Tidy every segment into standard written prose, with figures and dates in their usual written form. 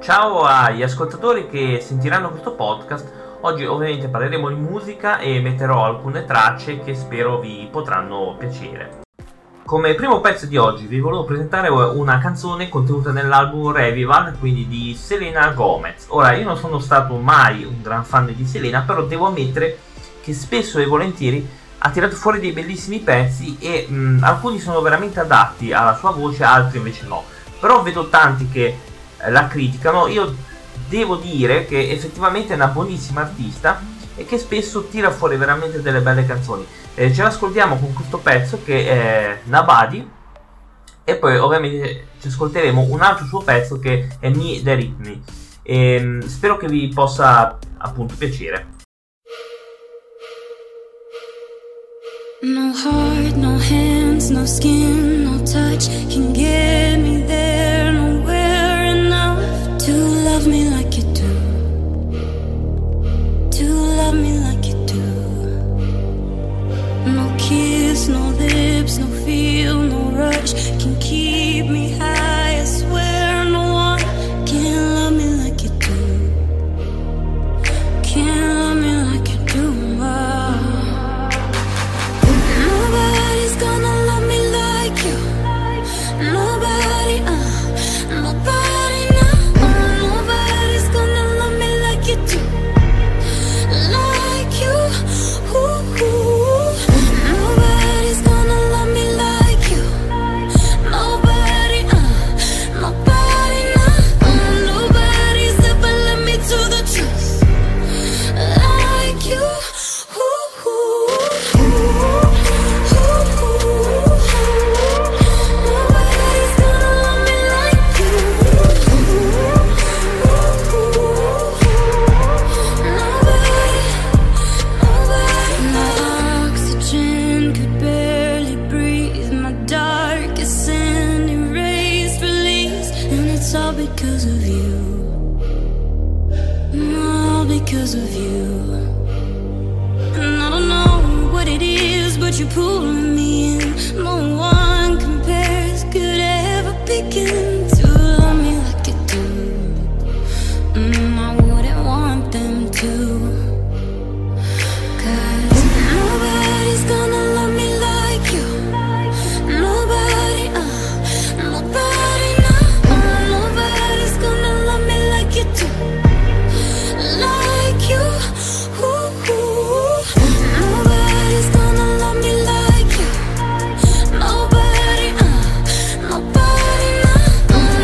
Ciao agli ascoltatori che sentiranno questo podcast. Oggi ovviamente parleremo di musica e metterò alcune tracce che spero vi potranno piacere. Come primo pezzo di oggi vi volevo presentare una canzone contenuta nell'album Revival, quindi di Selena Gomez. Ora, io non sono stato mai un gran fan di Selena, però devo ammettere che spesso e volentieri ha tirato fuori dei bellissimi pezzi e alcuni sono veramente adatti alla sua voce, altri invece no. Però vedo tanti che la criticano. Io devo dire che effettivamente è una buonissima artista e che spesso tira fuori veramente delle belle canzoni. Ce l'ascoltiamo con questo pezzo che è Nobody e poi ovviamente ci ascolteremo un altro suo pezzo che è Me The Rhythm. Spero che vi possa appunto piacere. No heart, no hands, no skin, no touch can get me there, nowhere enough to love me like you do, to love me like you do. No kiss, no lips, no feel, no rush can keep me high. I swear no one can love me like you do, can't love me like you do. Nobody's gonna love me like you. Nobody, nobody, no. Nobody's gonna love me like you do, like you. Ooh, ooh. Nobody's gonna love me like you. Nobody, nobody, no. Nobody's ever led me to the truth like you. Ooh, ooh. Because of you, all because of you. And I don't know what it is, but you're pulling me in. No one compares, could ever begin to love me like you do. I wouldn't want them to, 'cause nobody's gonna love me like you. Nobody, nobody, no. Nobody's gonna love me like you do, like you. Ooh, ooh. Nobody's gonna love me like you. Nobody, nobody, no.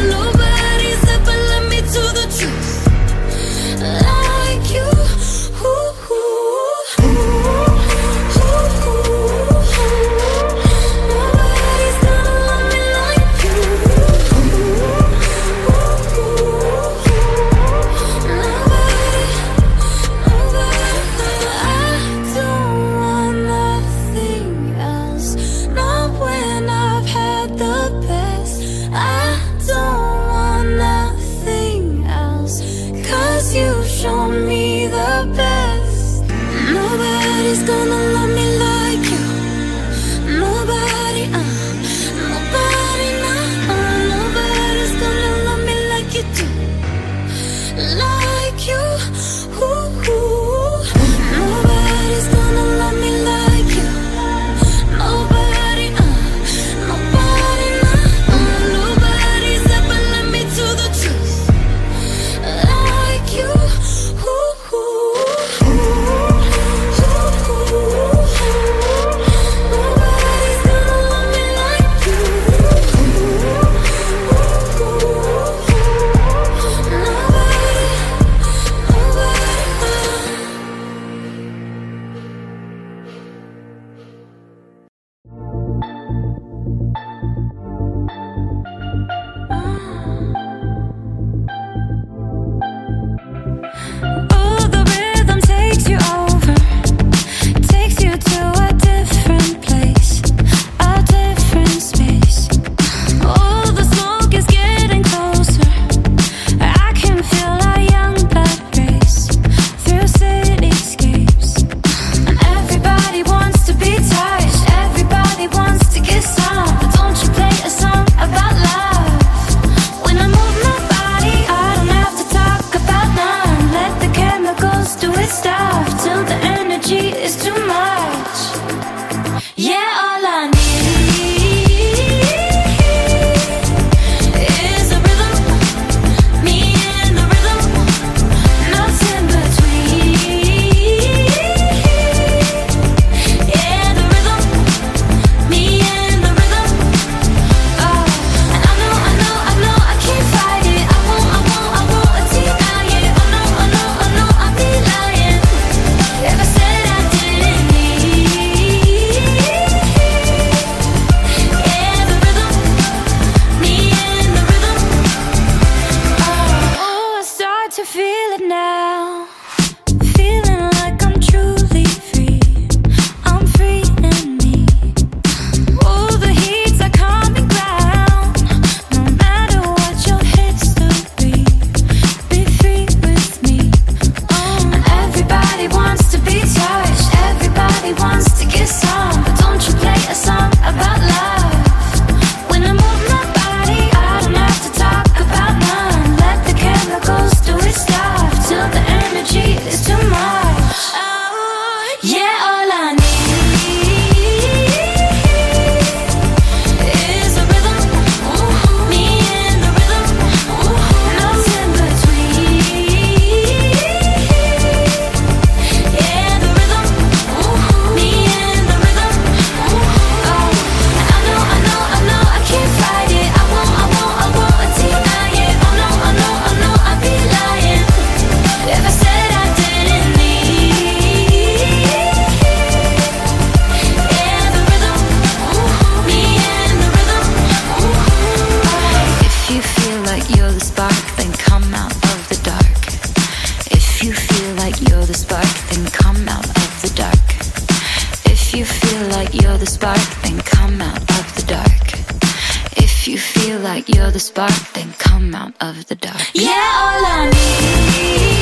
the spark, then come out of the dark. Yeah, all I need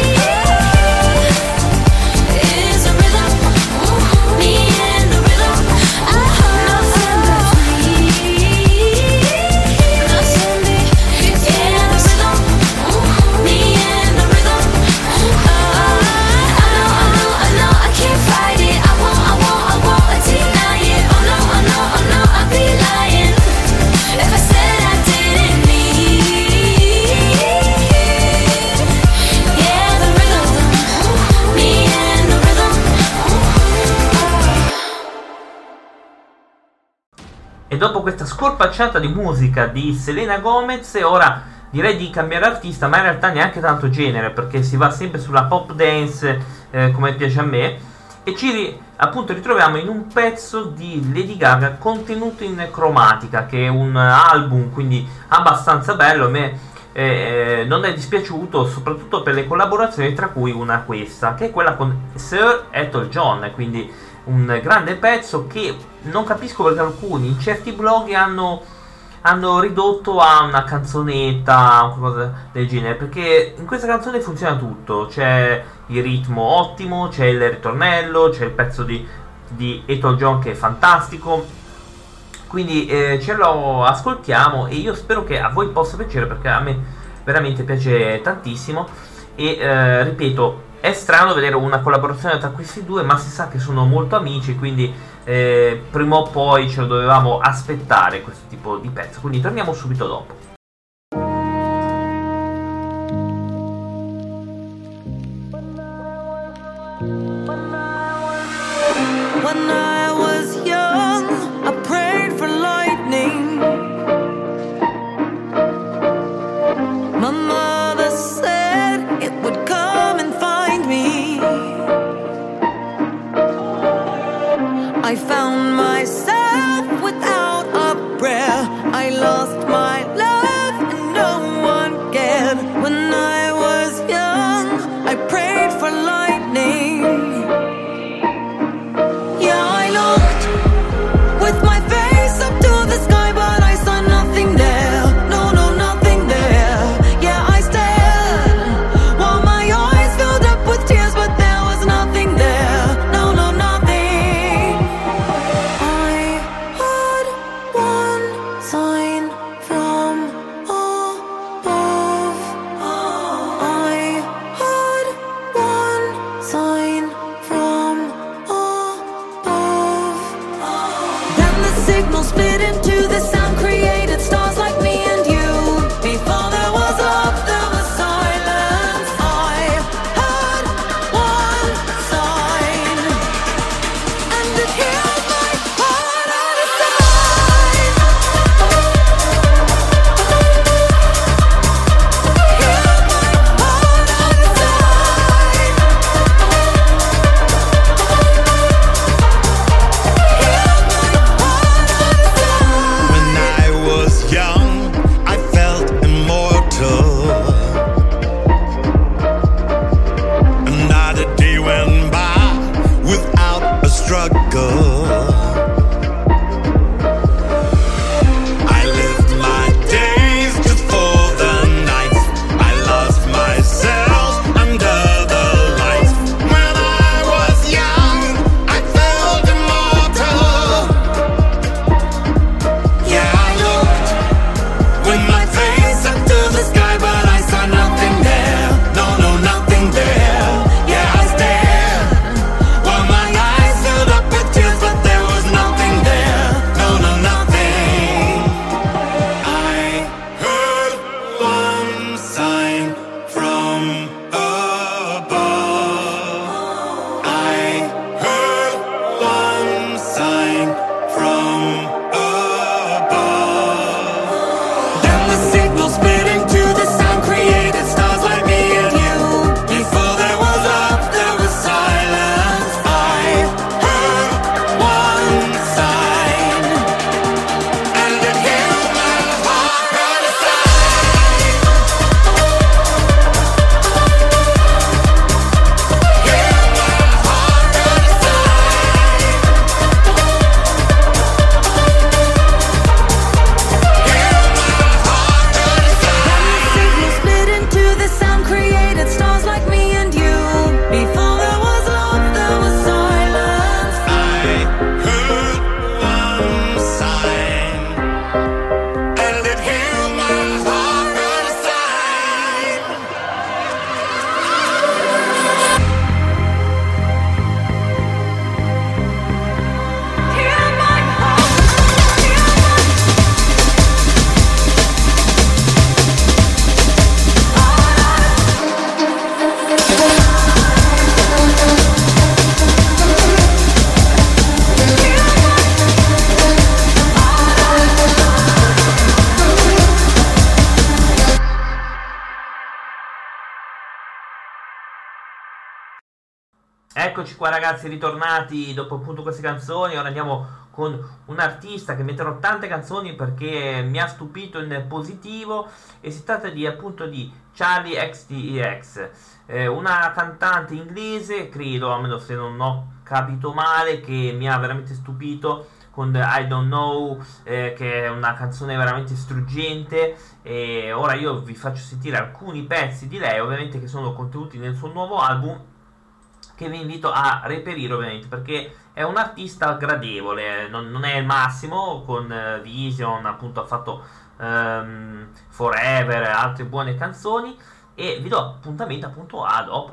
is a rhythm, me and the rhythm. Nothing between, nothing between. Yeah, the rhythm, me and the rhythm. I know, I can't fight it. I won't deny it. Oh no, I'd be lying if I said I didn't need. Yeah, the rhythm, me and the rhythm. E dopo questa scorpacciata di musica di Selena Gomez, ora direi di cambiare artista, ma in realtà neanche tanto genere, perché si va sempre sulla pop dance come piace a me, e appunto ritroviamo in un pezzo di Lady Gaga contenuto in Chromatica, che è un album quindi abbastanza bello. A me non è dispiaciuto, soprattutto per le collaborazioni, tra cui una questa, che è quella con Sir Elton John, quindi un grande pezzo che non capisco perché alcuni in certi blog hanno ridotto a una canzonetta o qualcosa del genere, perché in questa canzone funziona tutto, c'è il ritmo ottimo, c'è il ritornello, c'è il pezzo di Elton John che è fantastico, quindi ce lo ascoltiamo e io spero che a voi possa piacere, perché a me veramente piace tantissimo. E ripeto, è strano vedere una collaborazione tra questi due, ma si sa che sono molto amici, quindi prima o poi ce lo dovevamo aspettare questo tipo di pezzo, quindi torniamo subito dopo. When I was young, I prayed for lightning. My mother said it would come and find me. I found myself without a prayer. I lost my love and no one cared. When I was young, I prayed for lightning. Yeah, I looked with my face up to the sky, but I saw nothing there. No, nothing there. Yeah, I stared while my eyes filled up with tears, but there was nothing there. No, nothing. I had one sign from above. I had one sign from above. Then the signal split into the sound, created stars like me and you. Before there was love, there was silence. I had one sign, and it healed my heart out of sight. Healed my heart out of sight. When I was young, I felt immortal. And not a day went by without a struggle. I lived my days just for the nights. I lost myself under the lights. When I was young, I felt immortal. Yeah, I looked with my face up to the sky, but I saw nothing there. No, nothing there. Yeah, I stared while my eyes filled up with tears, but there was nothing there. No, nothing. I heard one sign from above. I heard one sign from above. Then the signal split into the sound, created stars like me and you. Before there was love, there was silence. I heard one sign, and it healed my heart out of sight. Eccoci qua ragazzi, ritornati dopo appunto queste canzoni. Ora andiamo con un artista che metterò tante canzoni perché mi ha stupito in positivo, e si tratta di appunto di Charli XCX, una cantante inglese, credo, a meno se non ho capito male, che mi ha veramente stupito con I Don't Know, che è una canzone veramente struggente. E ora io vi faccio sentire alcuni pezzi di lei, ovviamente, che sono contenuti nel suo nuovo album, che vi invito a reperire ovviamente, perché è un artista gradevole, non è il massimo. Con Vision appunto ha fatto Forever, altre buone canzoni, e vi do appuntamento appunto a dopo.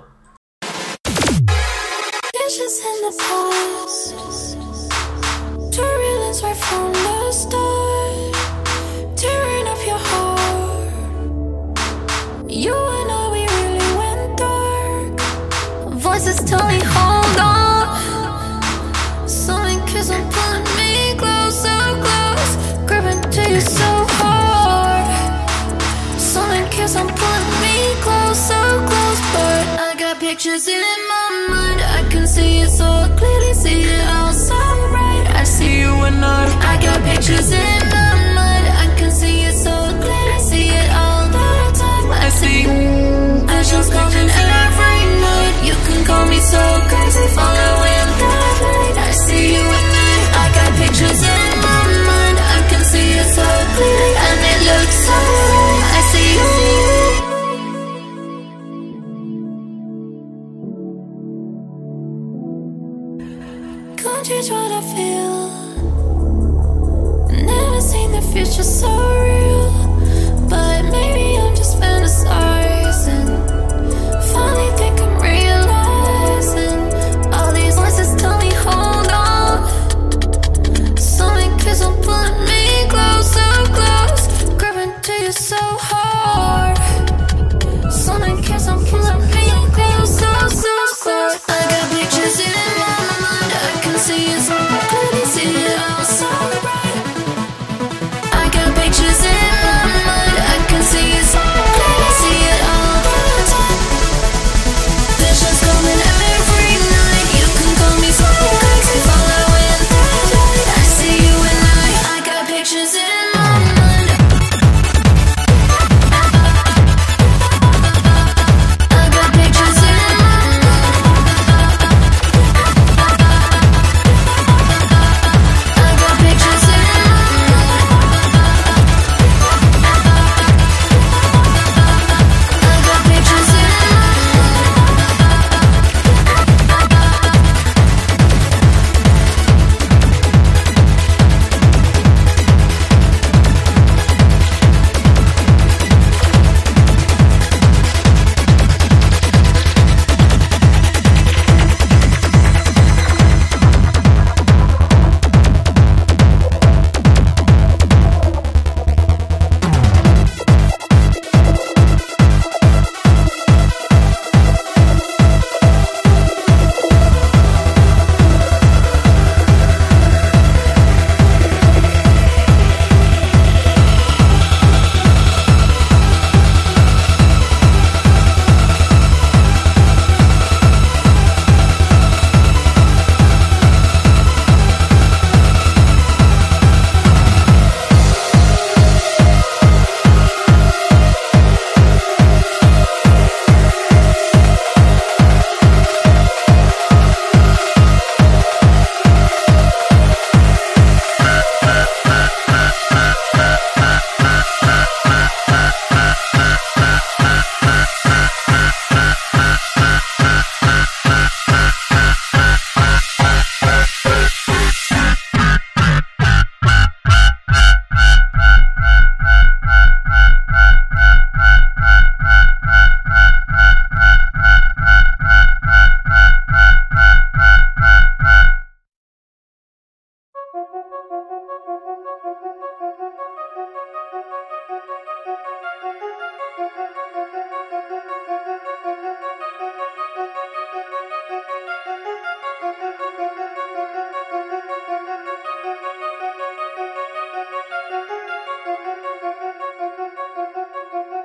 Dishes in the past, to realize right from the start, tearing up your heart. You and I, we really went dark. Voices tell me hold on. Something kiss on pulling me close, so close, grabbing to you so hard. Something kiss on pulling me close, so close, but I got pictures in my mind. I can see it so clearly, see it all so bright. I see you and I got pictures in my mind. I can see it so clearly, see it all the time. I see visions coming every night. You can call me so crazy, following the light. I see you and I got pictures in my mind. I can see it so clearly, and it looks so right. I see you. Can't change what I feel. Never seen the future so real, but maybe I'm just fantasizing. Finally think I'm realizing all these voices tell me hold on. Something keeps on pulling me close, so close, grabbing to you so hard. Something keeps on pulling me close, so close. I got pictures in my mind. I can see it so clearly, see it all so bright. I got pictures in my mind. I can see it so clearly, see it all the time. Visions coming every night. You can call me so crazy, following the light. I see you and I got pictures in my mind. I got pictures in my mind. I got pictures in my mind. I got pictures in my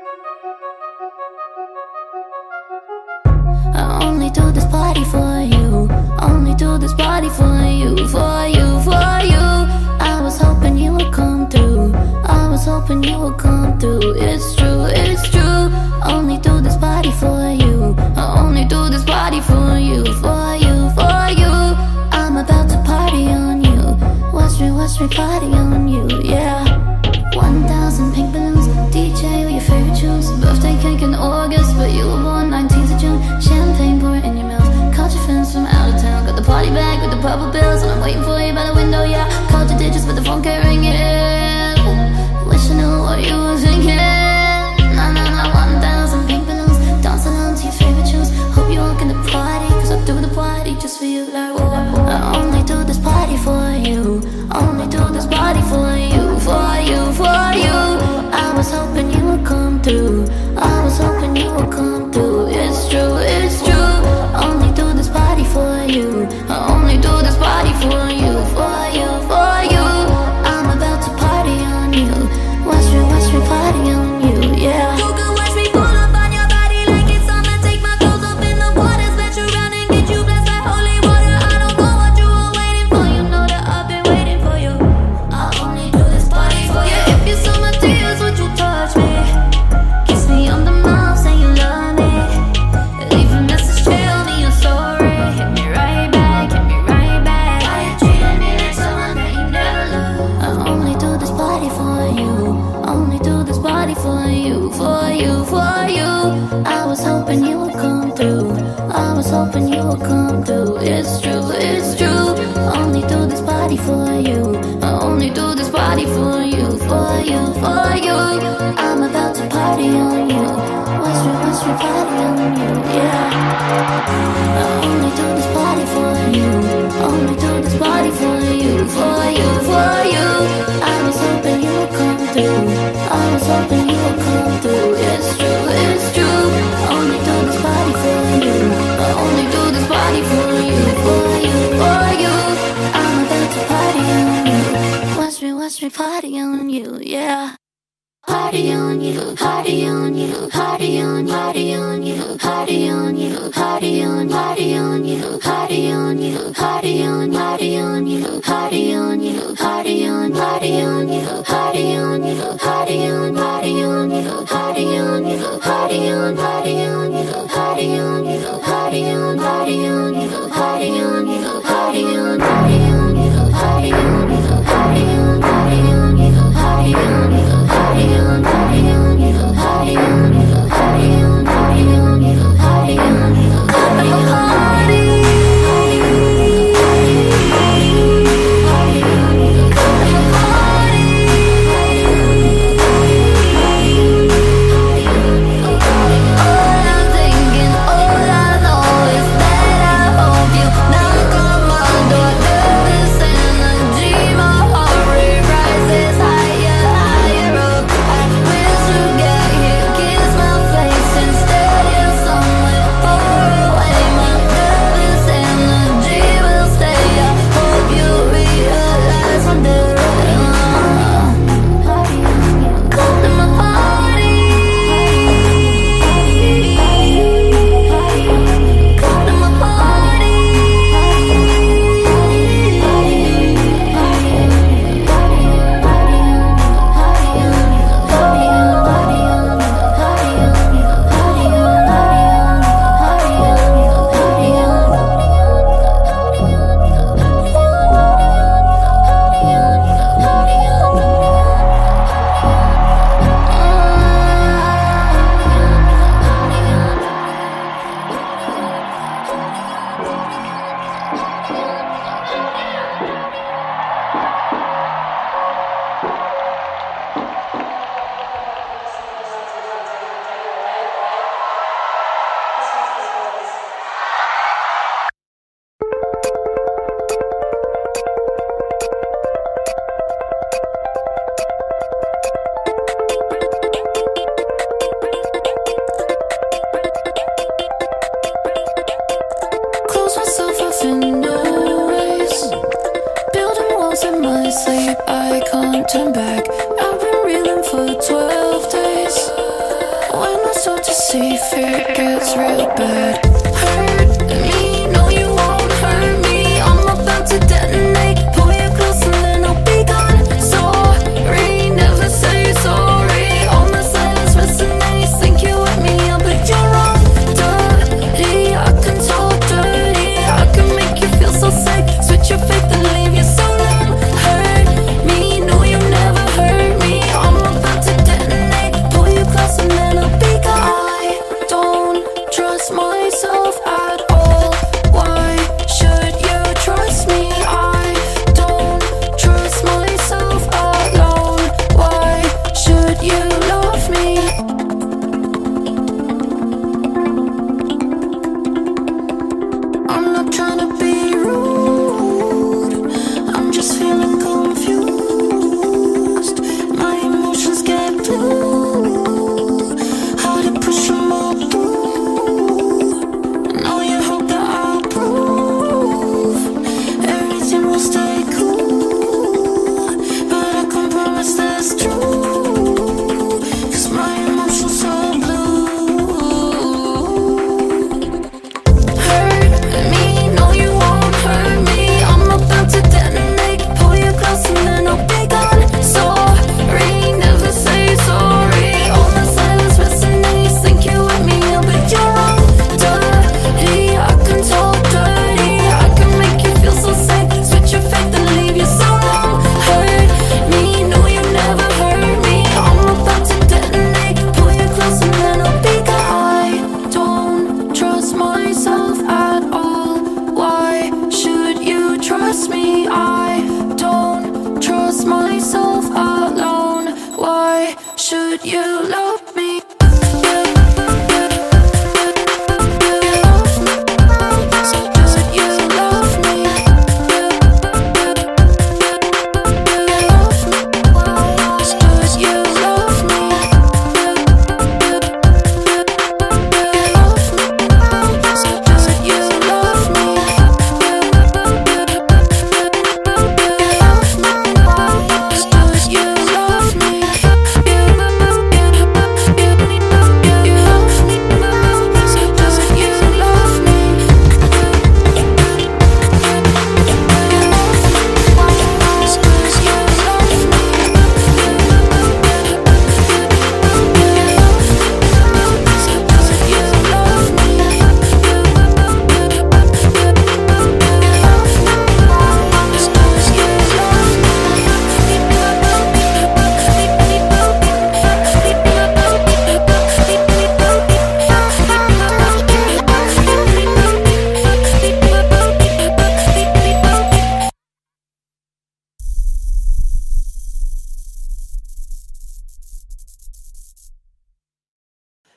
I only do this party for you. only do this party for you, for you, for you. I was hoping you would come through. I was hoping you would come through. It's true, it's true. Only do this party for you. I only do this party for you, for you, for you. I'm about to party on you. Watch me party on you, yeah. 1,000 pink balloons, DJ with your favorite tunes. Birthday cake in August, but you were born 19th of June. Champagne pouring in your mouth. Caught your friends from out of town. Got the party bag with the purple bills, and I'm waiting for you by the window, yeah. Called your digits, but the phone kept ringing. Wish I knew what you were thinking. Nah, 1,000 pink balloons, dance along to your favorite tunes. Hope you walk in the party, cause I do the party just for you, like whoa. I only do this party for you. Only do this party for you, for you, for you. I was hoping you would come through. I was hoping you would come through. It's true, it's true. Only do this party for you. I only do this party for you, for you, for you. I'm about to party on you. Watch me party on you, yeah. You can watch me pull up on your body like it's summer. Take my clothes off in the water, splash you around and get you blessed like holy water. I don't know what you were waiting for. You know that I've been waiting for you. I only do this party for you. If you saw my tears, would you touch me? Kiss me on the mouth, say you love me. Leave a message, tell me you're sorry. Hit me right back, hit me right back. Why you treating me like someone that you never loved? I only do this party for you. Only do this party for you, for you, for you. I was hoping you would come through. I was hoping you would come through. It's true, it's true. Only do this party for you. I only do this party for you, for you, for you. I'm about to party on you. Watch me party on you, yeah. I only do this party for you. Only do this party for you, for you, for you. I was hoping you would come through. I was hoping you would come through. It's true, it's true. Only do this party for you. I only do this party for you, for you, for you. I'm about to party on you. Watch me party on you, yeah. Party on you, party on you, party on, party on you, party on you, party on, party on you, party on you, party on, party on you, party on you, party on, party on you, party on you, party on, party on you, party on you, party on, party on you, party on you, party on, party on you, party on you, party on, party on you, party on you, party on, party on you, party on you, party on, party on you, party on you, party on, party on you, party on you, all I'm thinking, all I know is that I hope you knock on my door. Nervous energy, my heart rate rises higher, higher up. I wish to get here, kiss my face instead. You're somewhere far away. My nervous energy will stay. I hope you realize I'm there. Come to my party. Come to my party. Close myself off in a race, building walls in my sleep. I can't turn back. I've been reeling for 12 days. When I start to see fear, it gets real bad. Hurt me, no you won't hurt me.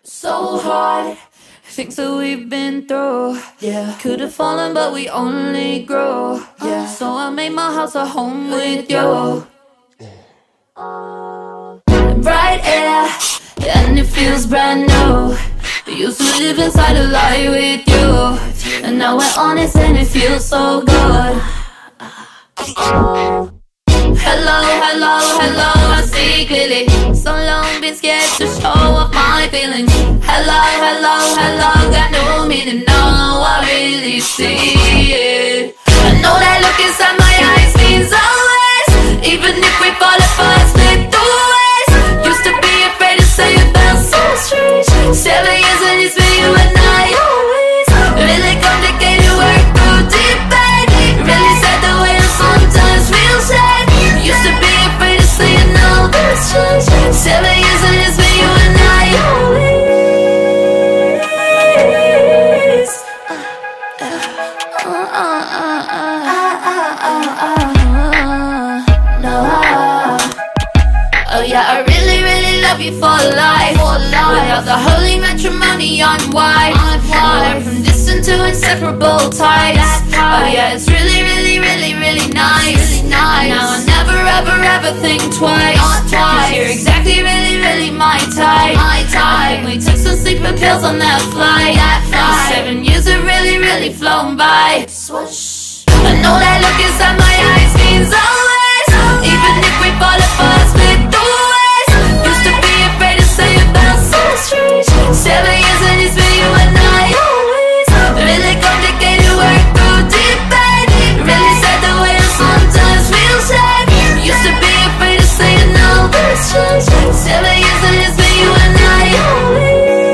So hard, things that we've been through. Yeah, could have fallen, but we only grew. Yeah, so I made my house a home with you. Bright air, and it feels brand new. We used to live inside a lie with you, and now we're honest and it feels so good. Hello, hello, hello, I see clearly. So long been scared to show off my feelings. Hello, hello, hello, got no meaning, now I really see it. I know that look inside my eyes means always. Even if we fall apart, split the ways. Used to be afraid to say it felt so strange. 7 years and it's been you and I always. Really complicated work through debate. Really sad the way I sometimes feel sad. Used to be afraid to say it, now that's changed. 7 years and it's been you and I always. Oh yeah, I really, really love you for life. Without the holy matrimony on wife. We're from distant to inseparable ties. Oh yeah, it's really, really, really, really nice. Now I never, ever, ever think twice. 'Cause you're exactly, really, really my type. I think we took some sleeping pills on that flight. 7 years have really, really flown by. I know that look inside my eyes means always. Even if we fall apart, split the ways. Used to be afraid to say it felt so strange. 7 years and it's been you and I always. Really complicated work through debate. Really sad the way I sometimes feel sad. Used to be afraid to say it, now that's changed. 7 years and it's been you and I always.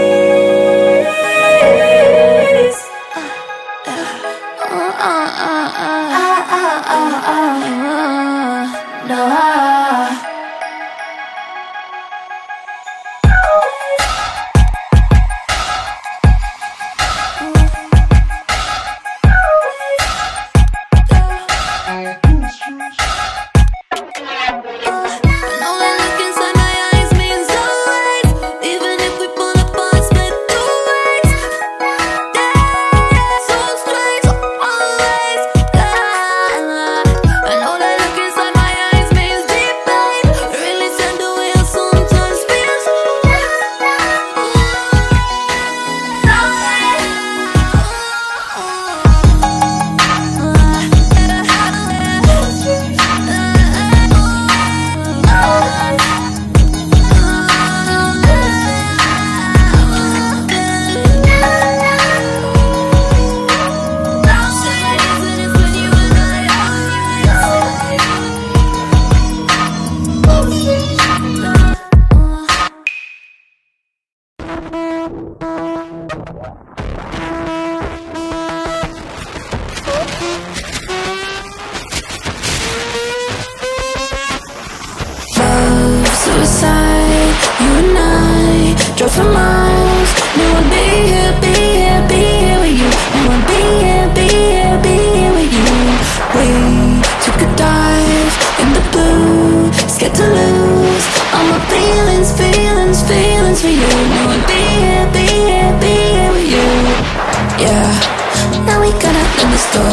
Suicide, you and I drove for miles. Knew I'd be here, be here, be here with you. Knew I'd be here, be here, be here with you. We took a dive in the blue, scared to lose all my feelings, feelings, feelings for you. Knew I'd be here, be here, be here with you. Yeah, now we gotta let this go.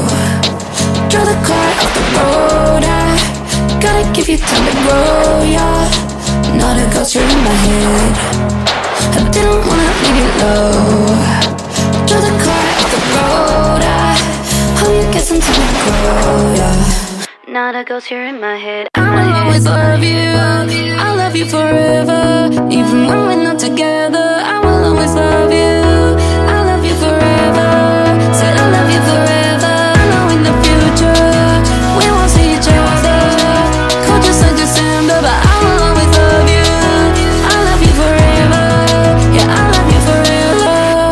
Draw the car off the road. I gotta give you time to grow, yeah. Not a ghost, you're in my head. I didn't wanna leave you low. Draw the car off the road. I hope you get some time to grow, yeah. Not a ghost, you're in my head. I'll always love you. I'll love you forever. Even when we're not together, I will always love you. I'll love you forever. Said I'll love you forever. I know in the future we won't see each other. Cold just like December, but I will always love you. I'll love you forever. Yeah, I'll love you forever.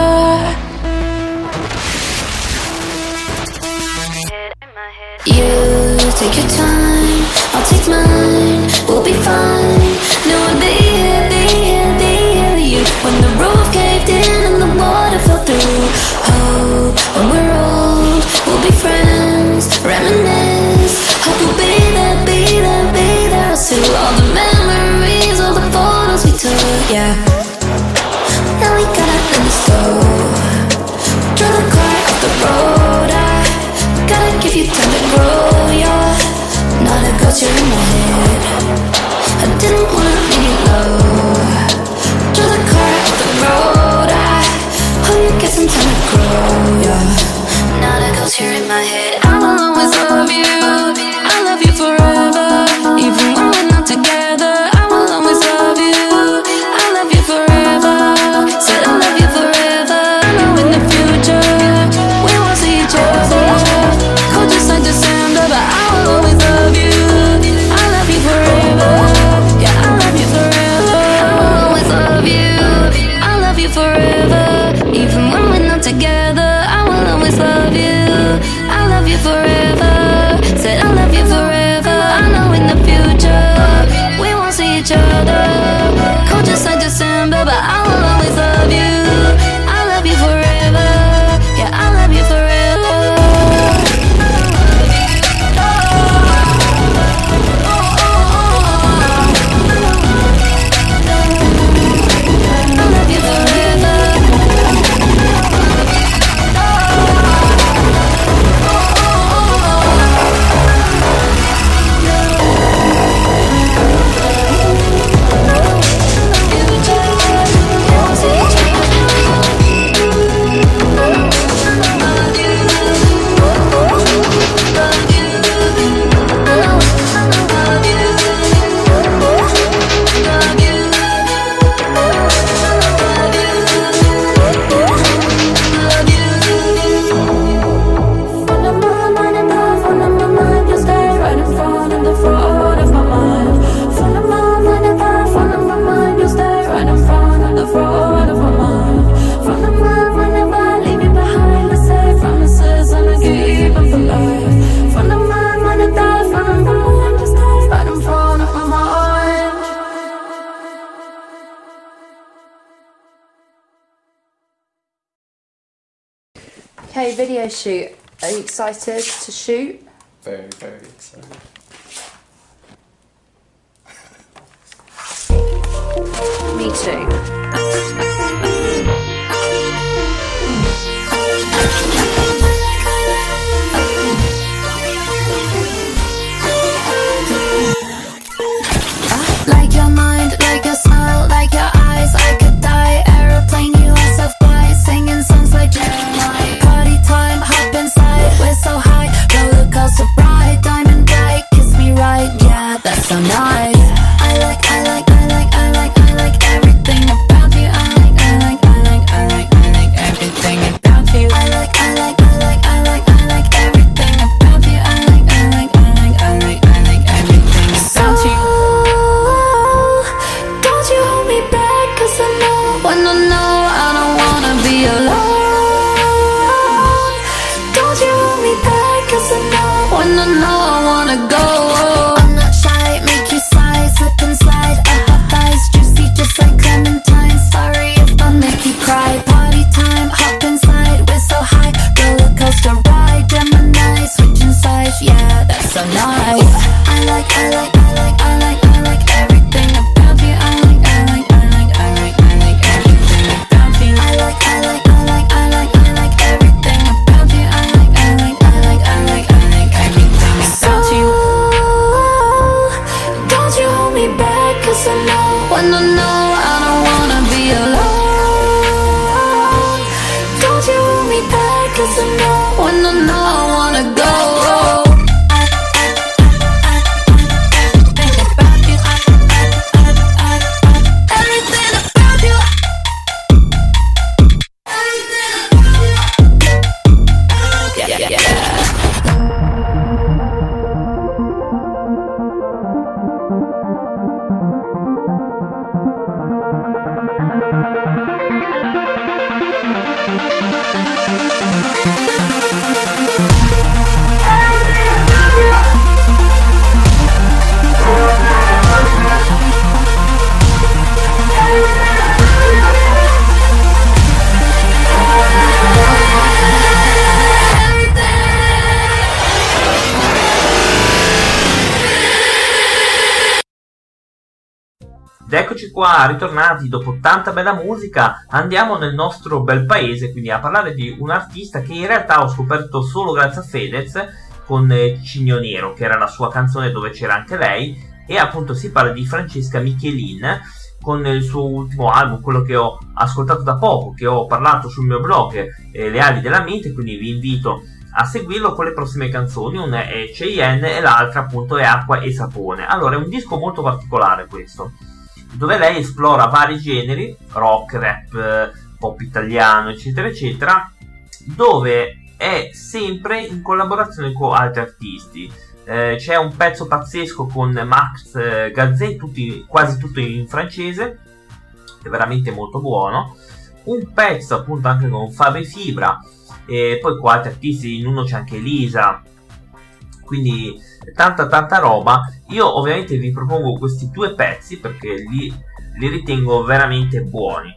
You take your time, I'll take mine. We'll be fine. No, I'll be here, be here, be here with you. When the love you forever. Said I love you forever. I know in the future we won't see each other. Cold just like December, but I will always love you. I love you forever. Yeah, I love you forever. Okay, video shoot. Are you excited to shoot? Very, very excited. Me too. Like your mind, like your smile, like your eyes, I could die. Aeroplane, you are so fly, singing songs like Jeremiah. Party time, hop inside, we're so high. Roller coaster ride, diamond bright, kiss me right, yeah, that's so nice. I like everything about you. I like everything about you. I like everything about you. I like everything about you. Don't you hold me back, 'cause I know when I know I don't wanna be alone. Don't you hold me back, 'cause I know when I know I wanna go. I'm not shy, make you sigh, slip and slide. I have thighs juicy just like clementine. Sorry if I make you cry. Party time, hop inside, we're so high. Roller coaster ride, Gemini, switching sides, yeah, that's so nice. I like everything about you. I like everything about you. I like everything about you. I like everything about you. Don't you hold me back, 'cause I know when I know I don't wanna be alone. Don't you hold me back, 'cause I know when I know I wanna go. Ed eccoci qua, ritornati dopo tanta bella musica. Andiamo nel nostro bel paese, quindi a parlare di un artista che in realtà ho scoperto solo grazie a Fedez con Cigno Nero, che era la sua canzone dove c'era anche lei. E appunto si parla di Francesca Michelin con il suo ultimo album, quello che ho ascoltato da poco, che ho parlato sul mio blog, Le ali della mente, quindi vi invito a seguirlo con le prossime canzoni. Una è Cheyenne e l'altra appunto è Acqua e Sapone. Allora, è un disco molto particolare questo, dove lei esplora vari generi, rock, rap, pop italiano, eccetera eccetera, dove è sempre in collaborazione con altri artisti. C'è un pezzo pazzesco con Max Gazzè, quasi tutto in francese, è veramente molto buono. Un pezzo appunto anche con Fabri Fibra, e poi con altri artisti, in uno c'è anche Elisa, quindi tanta roba. Io ovviamente vi propongo questi 2 pezzi perché li ritengo veramente buoni.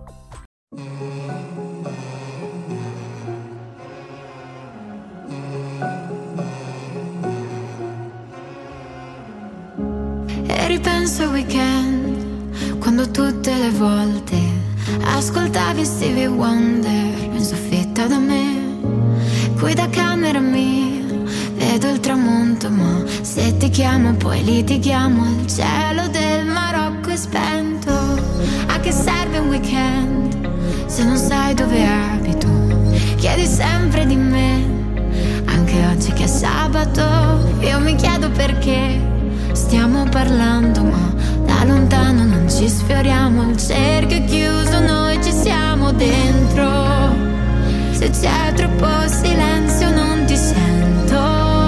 E ripenso al weekend, quando tutte le volte ascoltavi Stevie Wonder in soffitta da me. Qui da camera mia vedo il tramonto, ma se ti chiamo poi litighiamo. Il cielo del Marocco è spento. A che serve un weekend se non sai dove abito? Chiedi sempre di me, anche oggi che è sabato. Io mi chiedo perché stiamo parlando, ma da lontano non ci sfioriamo. Il cerchio è chiuso, noi ci siamo dentro. Se c'è troppo silenzio non ti sento.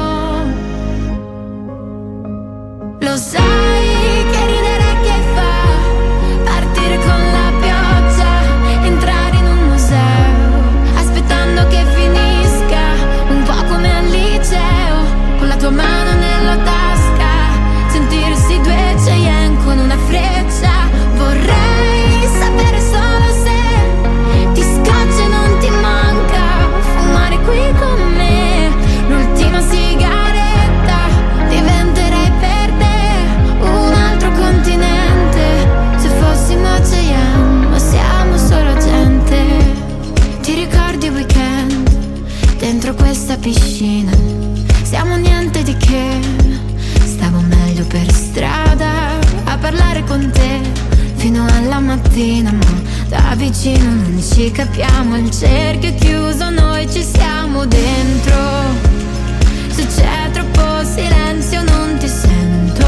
Lo sai che ridere che fa partire con la pioggia, entrare in un museo, aspettando che finisca, un po' come al liceo, con la tua mano nella tasca, sentirsi 2 Cheyenne con una freccia. Vorrei sapere solo se ti scoccia e non ti manca fumare qui con me l'ultima sigaretta. Diventerei per te un altro continente se fossimo Cheyenne, ma siamo solo gente. Ti ricordi il weekend dentro questa piscina? Siamo niente di che, stavo meglio per strada a parlare con te fino alla mattina, ma da vicino non ci capiamo. Il cerchio è chiuso, noi ci siamo dentro. Se c'è troppo silenzio non ti sento.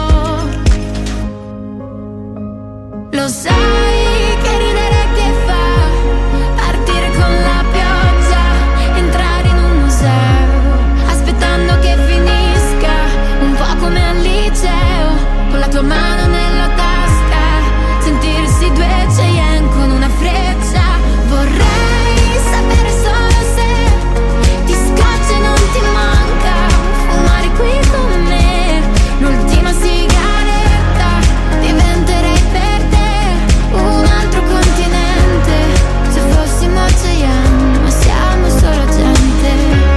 Lo sai che ridere che fa partire con la pioggia, entrare in un museo, aspettando che finisca, un po' come al liceo, con la tua mano nella tasca, sentirsi 2 Cheyenne con una freccia. Vorrei sapere solo se ti scoccia e non ti manca fumare qui con me l'ultima sigaretta. Diventerei per te un altro continente se fossimo Cheyenne, ma siamo solo gente.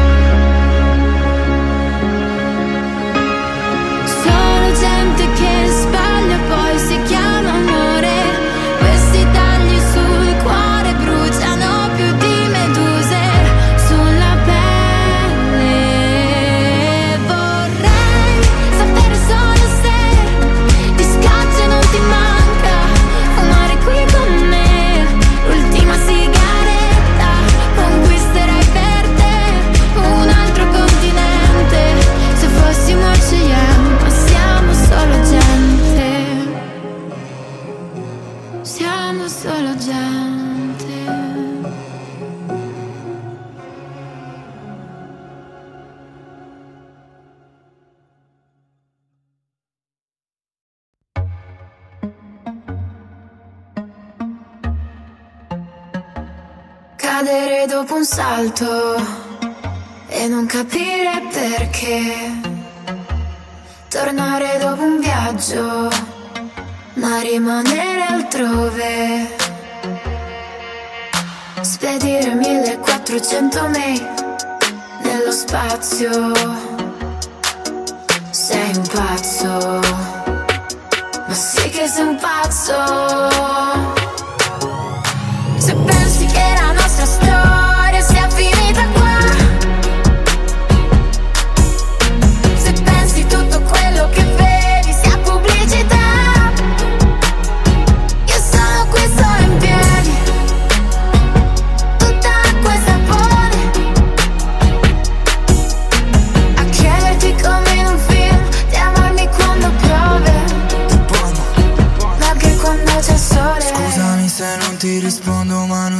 Solo gente che sbaglia poi si chiama amore. Questi tagli sul cuore bruciano più di meduse sulla pelle. Vorrei sapere solo se ti scoccia e non ti manca fumare qui con me l'ultima sigaretta. Conquisterei per te un altro continente se fossimo Cheyenne, ma siamo solo gente. Siamo solo gente. Cadere dopo un salto e non capire perché. Tornare dopo un viaggio ma rimanere altrove. Spedire 1400 mail nello spazio. Sei un pazzo, ma sì che sei un pazzo. Se pensi che la nostra storia sia finita qua, se pensi tutto quello che vedi sia pubblicità, io sono qui solo in piedi, tutta acqua e sapone, a chiederti come in un film di amarmi quando piove, ma anche quando c'è sole.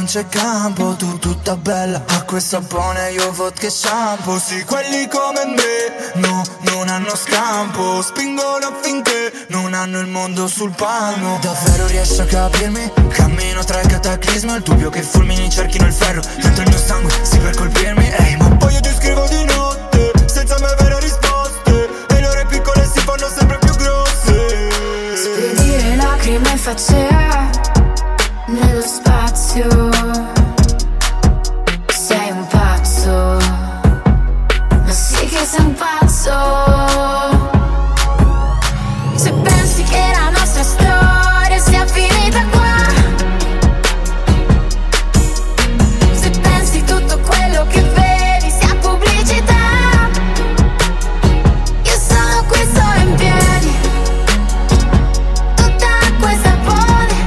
non c'è campo, tu tutta bella, acqua e sapone, io vodka e shampoo. Sì, quelli come me, no, non hanno scampo, spingono affinché non hanno il mondo sul palmo. Davvero riesci a capirmi? Cammino tra il cataclisma, il dubbio che i fulmini cerchino il ferro dentro il mio sangue, sì per colpirmi. Ehi, ma poi io ti scrivo di notte, senza mai avere risposte, e le ore piccole si fanno sempre più grosse. Spedire lacrime in faccia nello spazio. Sei un pazzo, ma sì che sei un pazzo. Se pensi che la nostra storia sia finita qua, se pensi tutto quello che vedi sia pubblicità, io sono qui solo in piedi, tutta acqua e sapone,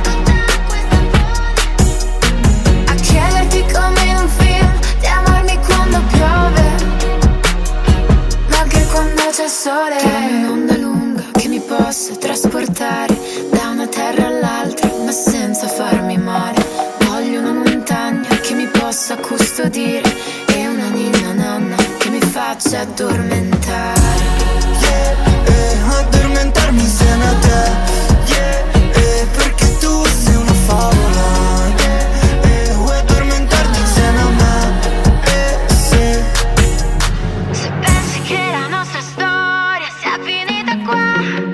a chiederti come in un film di amarmi quando piove, ma anche quando c'è sole. Che un'onda lunga che mi possa trasportare da una terra all'altra, ma senza farmi male. Voglio una montagna che mi possa custodire e una ninna nanna che mi faccia addormentare. Addormentarmi insieme a te, perché tu sei una favola, vuoi addormentarti insieme a me, sì. Se pensi che la nostra storia sia finita qua,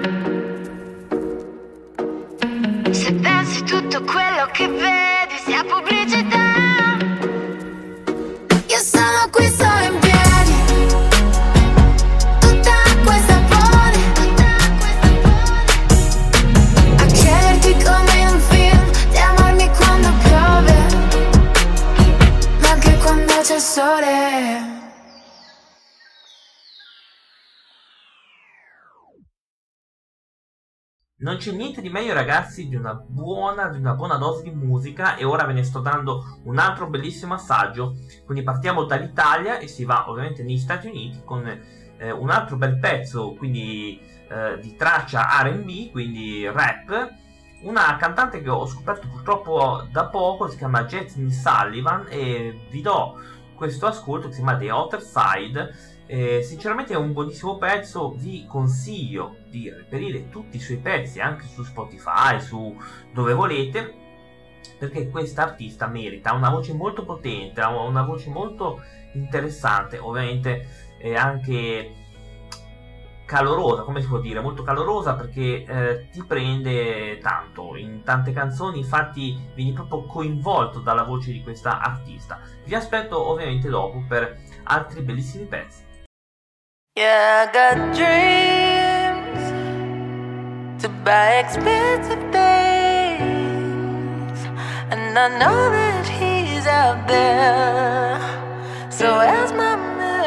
se pensi tutto quello che vedi sia pubblicità, io sono qui solo in piedi, tutta acqua e sapone, a chiederti come in un film di amarmi quando piove, ma anche quando c'è sole. Non c'è niente di meglio, ragazzi, di una buona dose di musica, e ora ve ne sto dando un altro bellissimo assaggio. Quindi partiamo dall'Italia e si va ovviamente negli Stati Uniti con un altro bel pezzo, quindi di traccia R&B, quindi rap. Una cantante che ho scoperto purtroppo da poco, si chiama Jasmine Sullivan, e vi do questo ascolto che si chiama The Other Side. Sinceramente è un buonissimo pezzo, vi consiglio di reperire tutti i suoi pezzi anche su Spotify, su dove volete, perché questa artista merita, ha una voce molto potente, ha una voce molto interessante, ovviamente anche calorosa, come si può dire, molto calorosa, perché ti prende tanto in tante canzoni, infatti vieni proprio coinvolto dalla voce di questa artista. Vi aspetto ovviamente dopo per altri bellissimi pezzi. Yeah, I got dreams to buy expensive things, and I know that he's out there, so where's my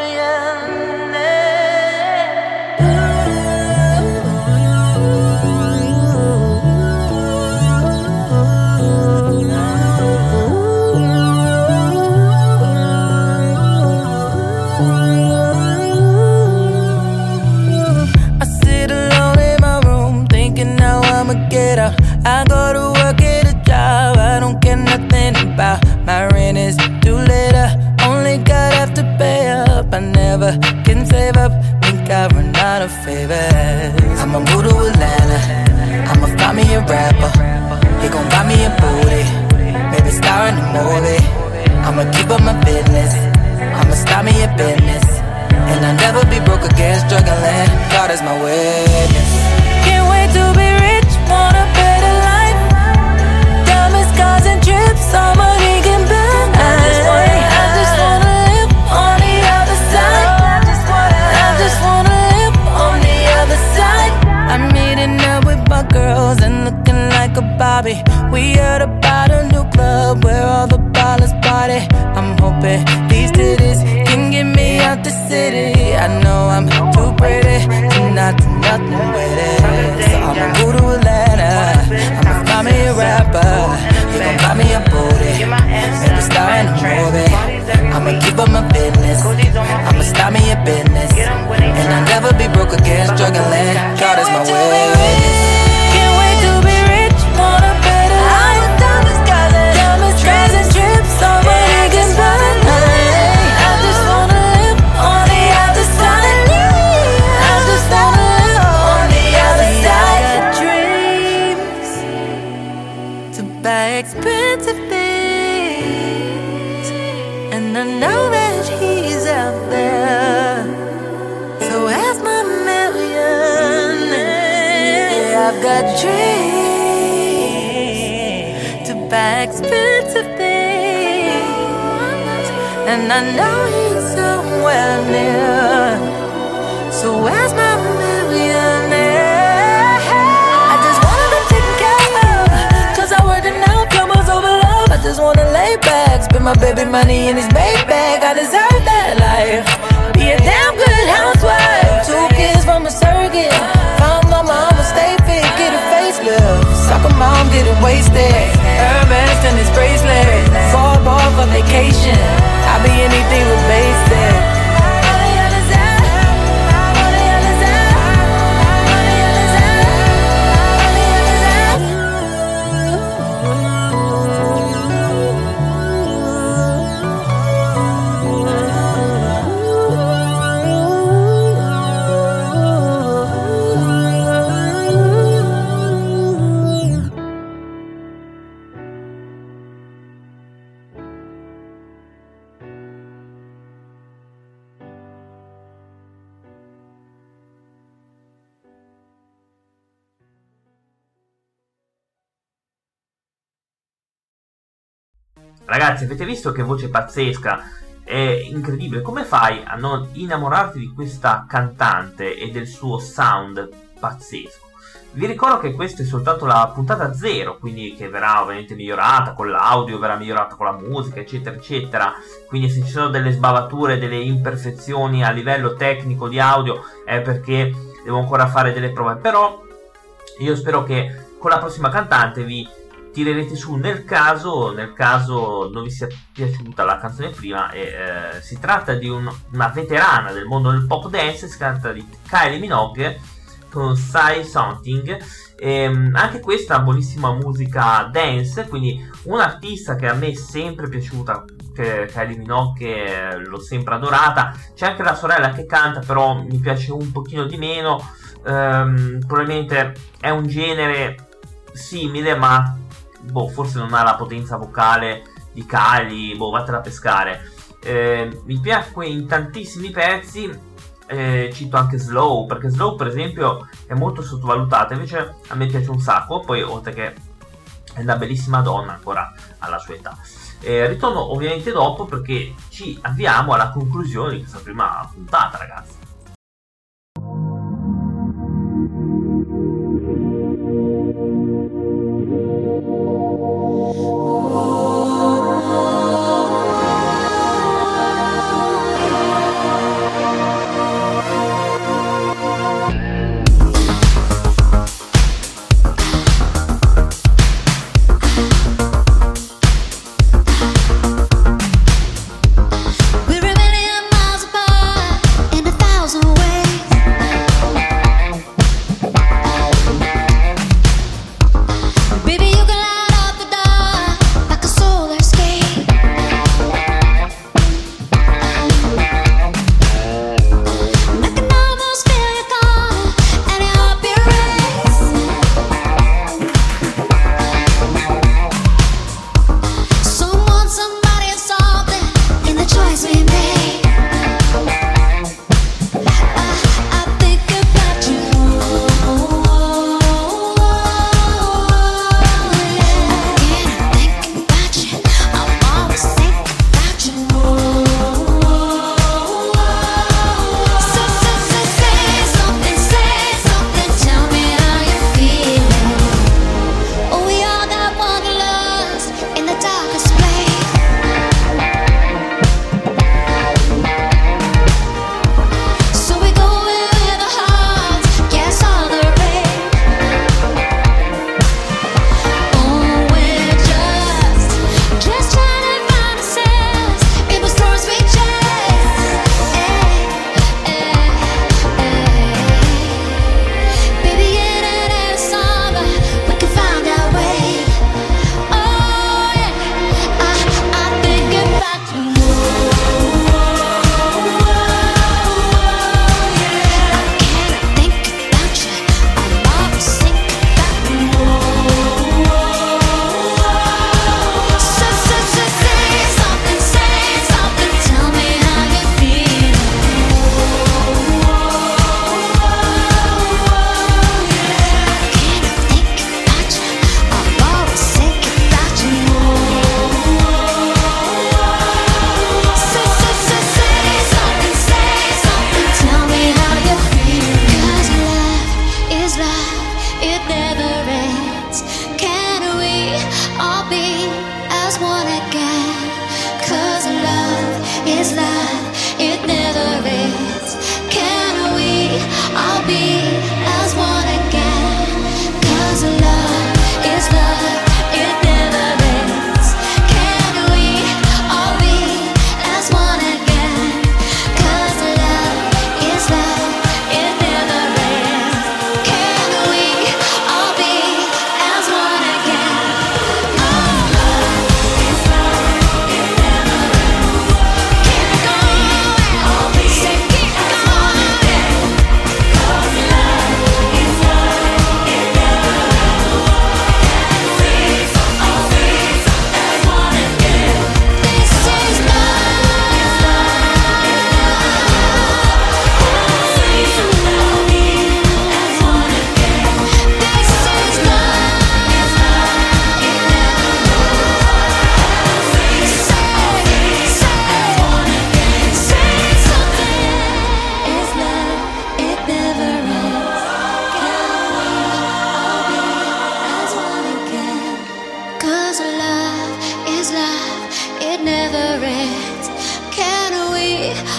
I go to work at a job I don't care nothing about. My rent is due later, only God have to pay up. I never can save up, think I run out of favors. I'ma move to Atlanta, I'ma find me a rapper. He gon' buy me a booty, maybe star in a movie. I'ma keep up my business, I'ma start me a business, and I'll never be broke again, struggling. God is my witness. Can't wait to be rich, want a better life. Diamonds, cars and trips, all money can buy. I just wanna live on the other side. I just wanna live on the other side. I'm meeting up with my girls and looking like a Bobby. We heard about a new club where all the ballers party. I'm hoping these titties can get me out the city. I know I'm too pretty to not do nothing with it, so I'ma move know that he's out there. So ask my millionaire. Yeah, I've got dreams to buy expensive things, and I know he's somewhere near. So ask my millionaire. I just wanna be taken care of, 'cause I worked and now troubles over love. I just wanna lay back, spend my baby money in his Maybach. I deserve that life, be a damn good housewife. 2 kids from a surrogate, found my mama, stay fit, get a facelift. Soccer mom getting wasted, Hermes and his bracelet. 4 ball for vacation, I'll be anything with basic. Ragazzi, avete visto che voce pazzesca? È incredibile. Come fai a non innamorarti di questa cantante e del suo sound pazzesco? Vi ricordo che questa è soltanto la puntata 0, quindi che verrà ovviamente migliorata con l'audio, verrà migliorata con la musica, eccetera eccetera. Quindi se ci sono delle sbavature, delle imperfezioni a livello tecnico di audio è perché devo ancora fare delle prove. Però io spero che con la prossima cantante vi tirerete su nel caso non vi sia piaciuta la canzone prima. Si tratta di una veterana del mondo del pop dance, si tratta di Kylie Minogue con Say Something. Anche questa buonissima musica dance, quindi un'artista che a me è sempre piaciuta, che Kylie Minogue, l'ho sempre adorata. C'è anche la sorella che canta, però mi piace un pochino di meno. Probabilmente è un genere simile, ma forse non ha la potenza vocale di Kylie, vattela a pescare. Mi piacque in tantissimi pezzi, cito anche Slow, perché Slow per esempio è molto sottovalutata, invece a me piace un sacco. Poi oltre che è una bellissima donna ancora alla sua età. Ritorno ovviamente dopo, perché ci avviamo alla conclusione di questa prima puntata, ragazzi. We're a million miles apart in 1,000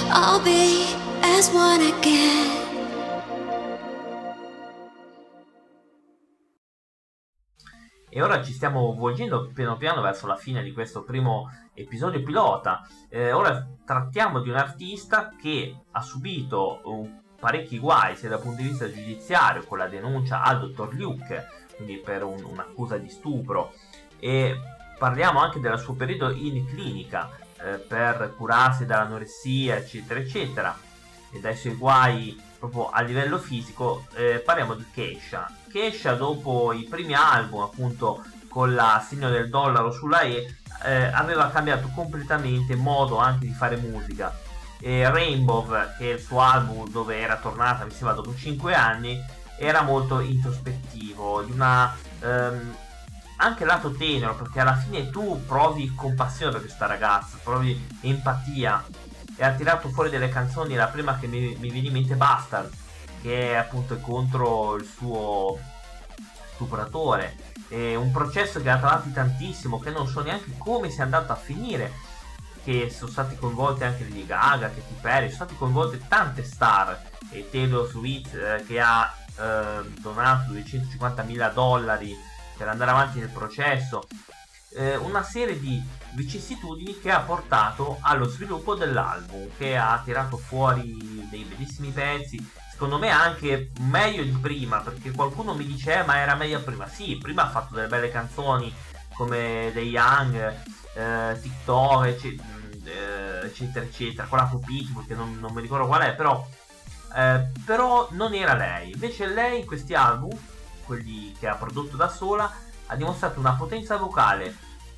I'll be as one again. E ora ci stiamo volgendo piano piano verso la fine di questo primo episodio pilota. Ora trattiamo di un artista che ha subito parecchi guai sia dal punto di vista giudiziario, con la denuncia al dottor Luke, quindi per un'accusa di stupro, e parliamo anche del suo periodo in clinica per curarsi dall'anoressia eccetera eccetera, e dai suoi guai proprio a livello fisico. Parliamo di Kesha, dopo i primi album appunto con la segno del dollaro sulla aveva cambiato completamente modo anche di fare musica. Rainbow, che è il suo album dove era tornata mi sembra dopo 5 anni, era molto introspettivo, di una anche lato tenero, perché alla fine tu provi compassione per questa ragazza, provi empatia, e ha tirato fuori delle canzoni. La prima che mi viene in mente, Bastard, che è appunto contro il suo stupratore. È un processo che ha tra l'altro tantissimo, che non so neanche come sia andato a finire, che sono stati coinvolti anche Lady Gaga, Katy Perry, sono stati coinvolte tante star, e Taylor Swift che ha donato $250.000 per andare avanti nel processo. Una serie di vicissitudini che ha portato allo sviluppo dell'album, che ha tirato fuori dei bellissimi pezzi, secondo me anche meglio di prima, perché qualcuno mi dice ma era meglio prima. Sì, prima ha fatto delle belle canzoni come The Young, TikTok eccetera eccetera, quella con Pitbull che non mi ricordo qual è, però non era lei. Invece lei in questi album, quelli che ha prodotto da sola, ha dimostrato una potenza vocale,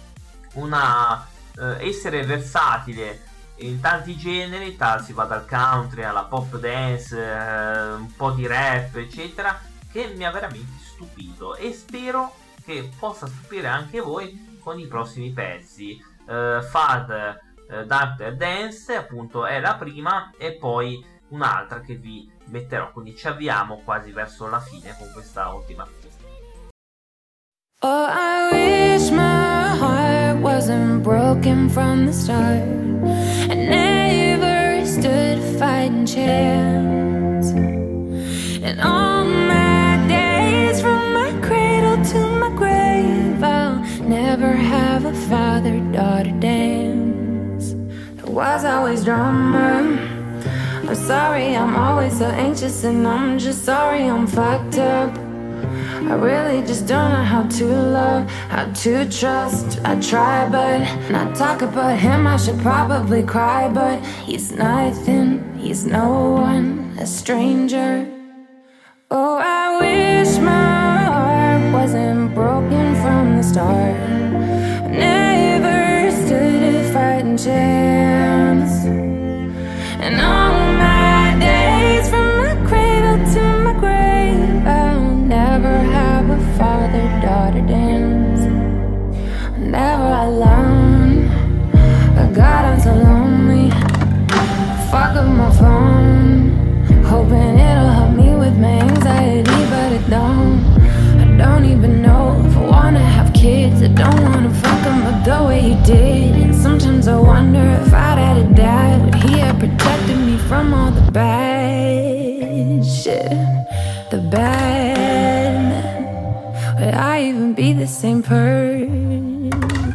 essere versatile in tanti generi, si va dal country alla pop dance, un po' di rap eccetera, che mi ha veramente stupito, e spero che possa stupire anche voi con i prossimi pezzi. Fad Dark Dance appunto è la prima, e poi un'altra che vi metterò, quindi ci avviamo quasi verso la fine con questa ultima pista. Oh, I wish my heart wasn't broken from the start. I never stood a fighting chance. And all my days, from my cradle to my grave, I'll never have a father-daughter dance. There was always drama. I'm sorry, I'm always so anxious, and I'm just sorry I'm fucked up. I really just don't know how to love, how to trust. I try, but not talk about him, I should probably cry, but he's nothing, he's no one, a stranger. Oh, I wish my heart wasn't broken from the start. I never stood a fighting chance. And all my days, from my cradle to my grave, I'll never have a father-daughter dance. Never alone. Oh God, I'm so lonely. Fuck up my phone, hoping it'll help me with my anxiety, but it don't. I don't even know if I wanna have kids. I don't wanna fuck him up the way he did. And sometimes I wonder if I'd had a dad, would he have protected me from all the bad shit, the bad men? Would I even be the same person?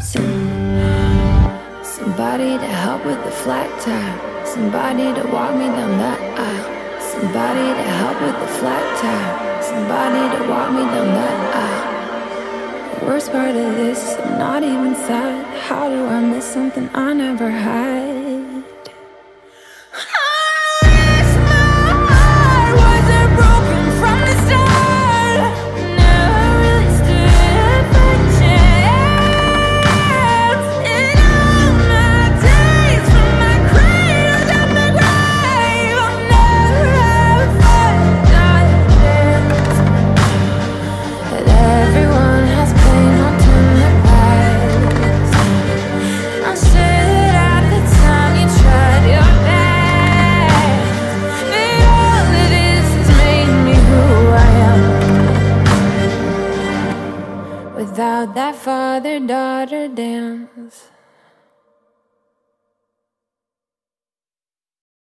Somebody to help with the flat tire, somebody to walk me down that aisle, somebody to help with the flat tire, somebody to walk me down that aisle. The worst part of this is I'm not even sad. How do I miss something I never had? Without that father-daughter dance.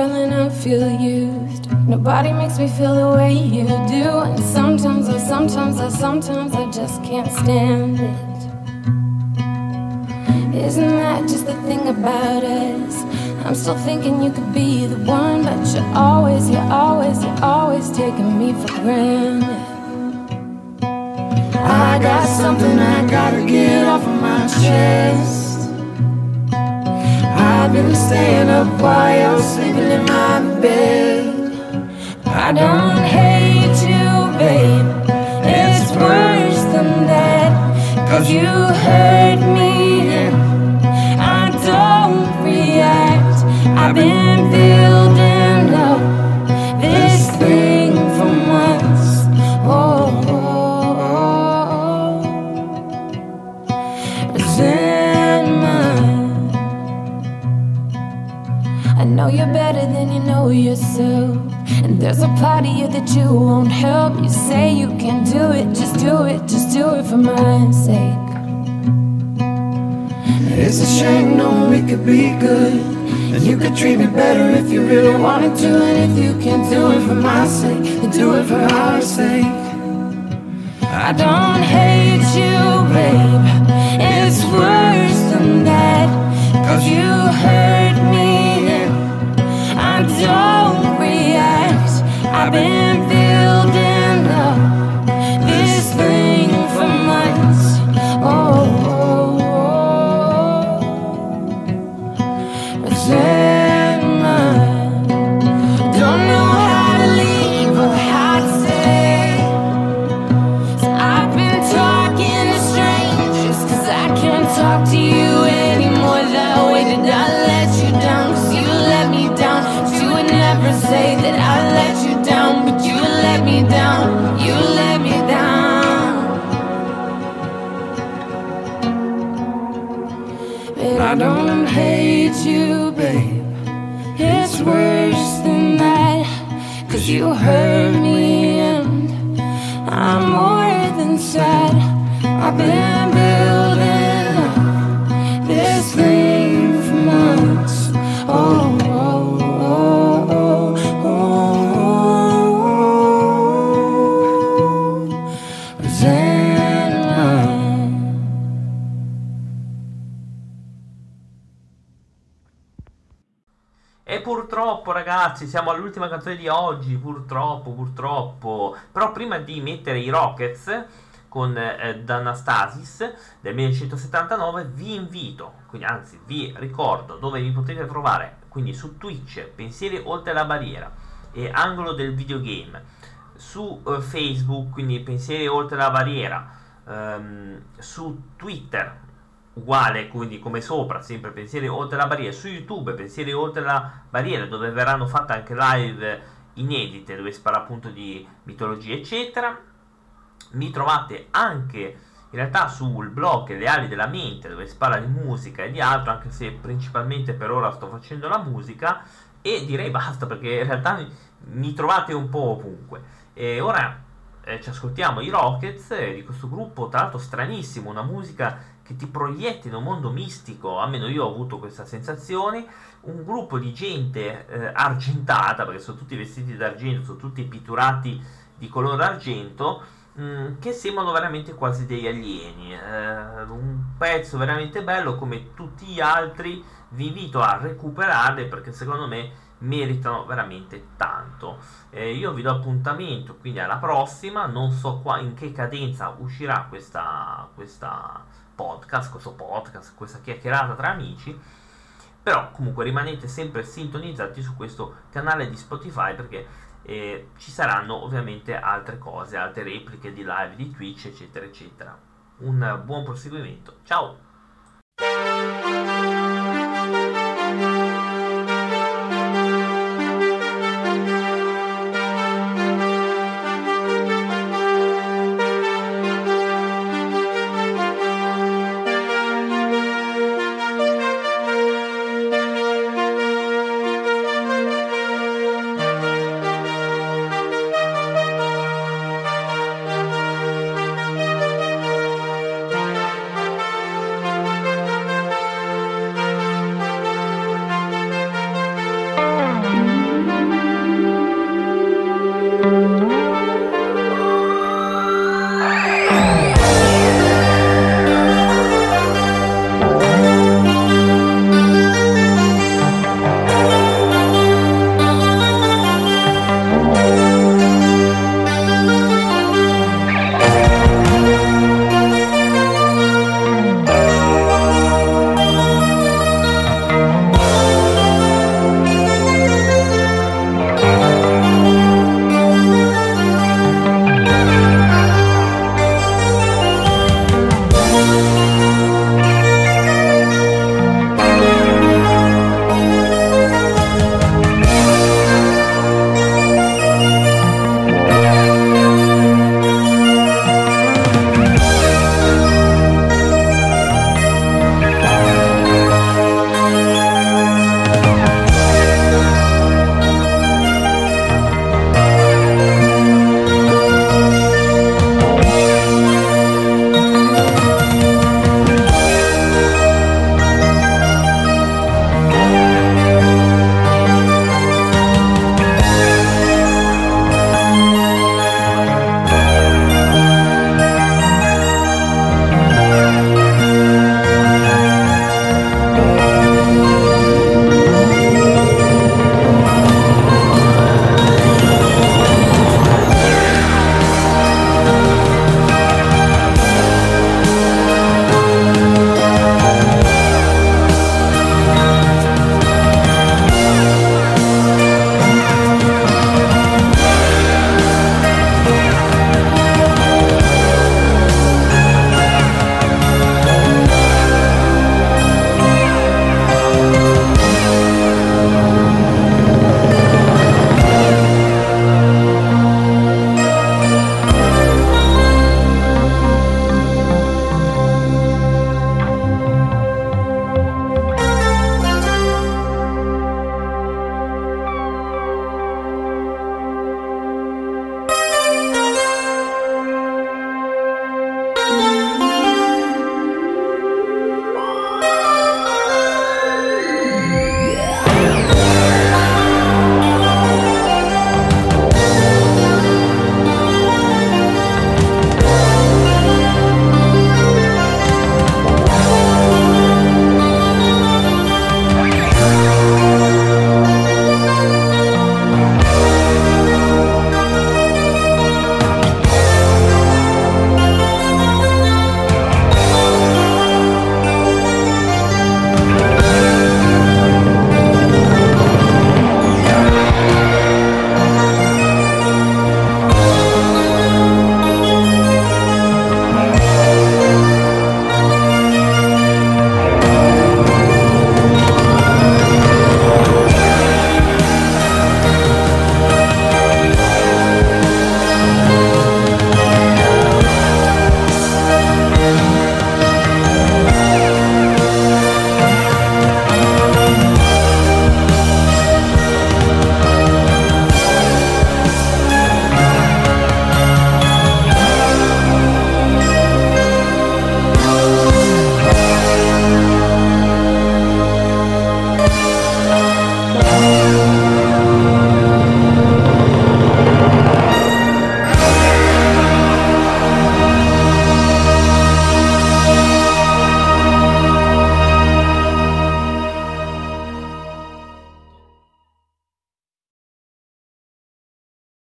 darling, I feel used. Nobody makes me feel the way you do. And sometimes I just can't stand it. Isn't that just the thing about us? I'm still thinking you could be the one, but you're always taking me for granted. I got something I gotta get off of my chest. I've been staying up while you're sleeping in my bed. I don't hate you, babe, it's worse than that. 'Cause you hurt me and I don't react. I've been building up this thing for months. Resentment. I know you're better than you know yourself. And there's a part of you that you won't help. You say you can do it, just do it for my sake. It's a shame, no, we could be good. And you could treat me better if you really wanted to. And if you can't do it for my sake, then do it for our sake. I don't hate you, babe, it's worse than that. 'Cause you hurt me and I don't react. I've been building up this thing for months. Resentment. Don't know how to leave or how to stay. So I've been talking to strangers, 'cause I can't talk to you anymore that way. Did I let you down? 'Cause you let me down. You would never say that I let you down, but you let me down. You let me down. But I don't hate you, babe, it's worse than that. 'Cause you hurt me and I'm more than sad. I've been building up this thing for months. Resentment. E purtroppo, ragazzi, siamo all'ultima canzone di oggi, purtroppo. Però prima di mettere i Rockets con D'Anastasis del 1979 vi invito, quindi anzi vi ricordo dove vi potete trovare, quindi su Twitch Pensieri oltre la barriera e Angolo del videogame, su Facebook quindi Pensieri oltre la barriera, su Twitter uguale, quindi come sopra, sempre Pensieri oltre la barriera, su YouTube Pensieri oltre la barriera, dove verranno fatte anche live inedite dove si parla appunto di mitologia eccetera. Mi trovate anche in realtà sul blog Le ali della mente, dove si parla di musica e di altro, anche se principalmente per ora sto facendo la musica, e direi basta, perché in realtà mi trovate un po' ovunque. E ora ci ascoltiamo i Rockets di questo gruppo, tra l'altro stranissimo, una musica che ti proietti in un mondo mistico, almeno io ho avuto questa sensazione, un gruppo di gente argentata, perché sono tutti vestiti d'argento, sono tutti pitturati di colore argento, che sembrano veramente quasi degli alieni. Un pezzo veramente bello, come tutti gli altri. Vi invito a recuperarli perché secondo me meritano veramente tanto. Io vi do appuntamento quindi alla prossima. Non so in che cadenza uscirà questo podcast, questa chiacchierata tra amici, però comunque rimanete sempre sintonizzati su questo canale di Spotify, perché ci saranno ovviamente altre cose, altre repliche di live di Twitch eccetera eccetera. Un buon proseguimento, ciao!